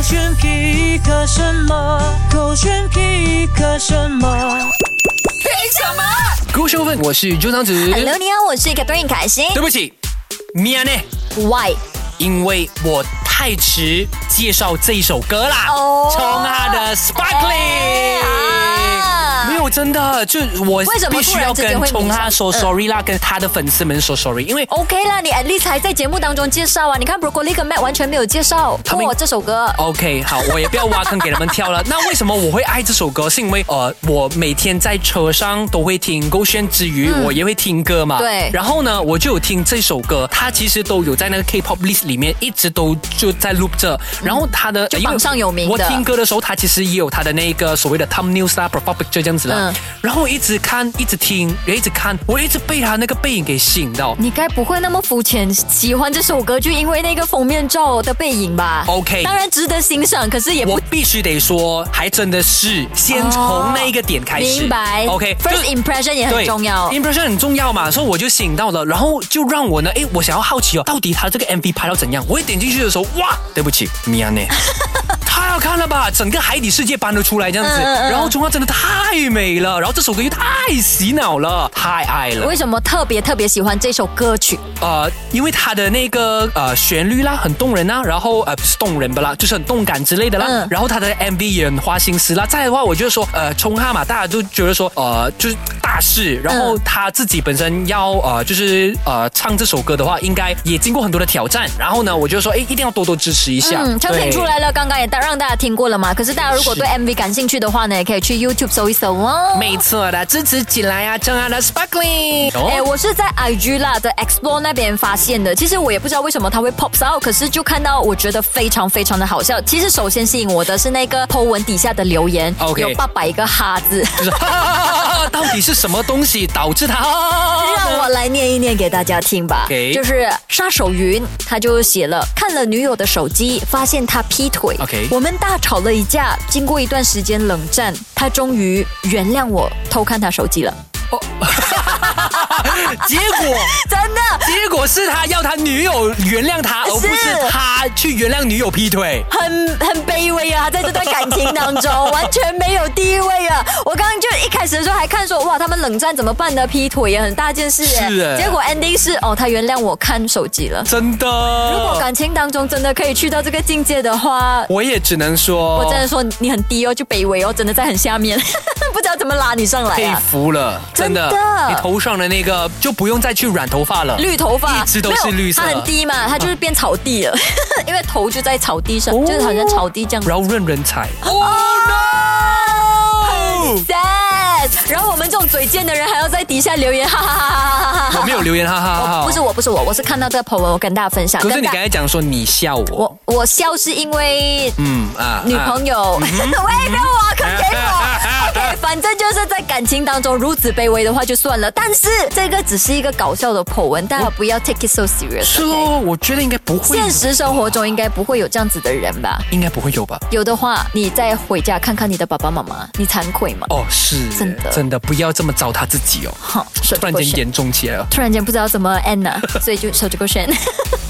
选皮克什么？勾选皮克什么？ 凭什么？ 故事部分，我是朱长子。 Hello， 你好，我是 Catherine 凯欣。 对不起，미안해。 Why？ 因为我太迟介绍这一首歌啦，从他的 Sparkling。没有，真的，就我必须要跟冲他说 sorry 啦，跟他的粉丝们说 sorry， 因为 OK 啦，你 at least 还在节目当中介绍啊。你看 Broccoli 跟 Matt 完全没有介绍这首歌。 OK， 好，我也不要挖坑给他们跳了。那为什么我会爱这首歌？是因为我每天在车上都会听勾选之余，我也会听歌嘛。 对。 然后呢，我就有听这首歌，它其实都有在那个 K-pop list 里面，一直都就在 loop 着。然后它的就榜上有名的。 我听歌的时候，它其实也有它的那个所谓的 thumbnails 啊 ，profile picture 这样子了。然后我一直看，一直听，也一直看，我一直被他那个背影给吸引到。 你该不会那么肤浅，喜欢这首歌就因为那个封面照的背影吧 ？OK， 当然值得欣赏，可是也不， 我必须得说，还真的是先从那一个点开始。 明白 ？OK，First impression 也很重要 ，impression 很重要嘛，所以我就吸引到了，然后就让我呢，我想要好奇到底他这个 MV 拍到怎样？我一点进去的时候，哇，对不起，미안해。太好看了吧！整个海底世界搬了出来这样子，然后中央真的太美了，然后这首歌又太洗脑了，太爱了。 为什么特别喜欢这首歌曲？ 因为它的那个旋律啦很动人啊，然后不是动人不啦，就是很动感之类的啦。然后它的 MV 也很花心思啦。再来的话，我觉得说冲哈嘛，大家都觉得说就是大事，然后他自己本身要就是唱这首歌的话，应该也经过很多的挑战。然后呢，我就说一定要多多支持一下。 唱片出来了，刚刚也让大家听过了嘛。可是大家如果对 MV 感兴趣的话呢，也可以去 YouTube 搜一搜哦。 没错的，支持起来啊，冲哈的 Sparkling。 我是在 IG 啦的 Explore 那边发现的。其实我也不知道为什么它会 pop out， 可是就看到我觉得非常的好笑。其实首先吸引我的是那个 po 文底下的留言，有800个哈字，就是到底是什么东西导致他？ 让我来念一念给大家听吧。就是杀手云，他就写了，看了女友的手机，发现他劈腿。我们大吵了一架，经过一段时间冷战，他终于原谅我偷看他手机了。 结果真的， 结果是他要他女友原谅他，而不是他去原谅女友劈腿， 很卑微啊！在这段感情当中，完全没有地位啊！我刚刚就一开始的时候还看说，哇，他们冷战怎么办呢？劈腿也很大件事耶。 是， 结果 ending 是他原谅我看手机了。 真的， 如果感情当中真的可以去到这个境界的话， 我也只能说， 我真的说你很低哦，就卑微哦，真的在很下面，不知道怎么拉你上来啊！ 佩服了，真的，你头上的那个就不用再去染头发了， 绿头发一直都是绿色， 它很低嘛，它就是变草地了，因为头就在草地上，就是好像草地这样， 然后任人踩。 sad。然后我们这种嘴贱的人还要在底下留言，哈哈哈哈哈哈。 我没有留言，哈哈哈。 不是我，我是看到这个 po 文，我跟大家分享。 可是你刚才讲说你笑我笑是因为女朋友，喂，不要挖坑给我。OK， 反正就是在感情当中如此卑微的话就算了，但是这个只是一个搞笑的 po 文，大家不要 take it so serious。 是哦，我觉得应该不会。 现实生活中应该不会有这样子的人吧？ 应该不会有吧？ 有的话，你再回家看看你的爸爸妈妈，你惭愧吗？ 是真的，不要这么糟蹋自己哦。突然间严重起来了， 突然间不知道怎么 end 了，所以就手这个选。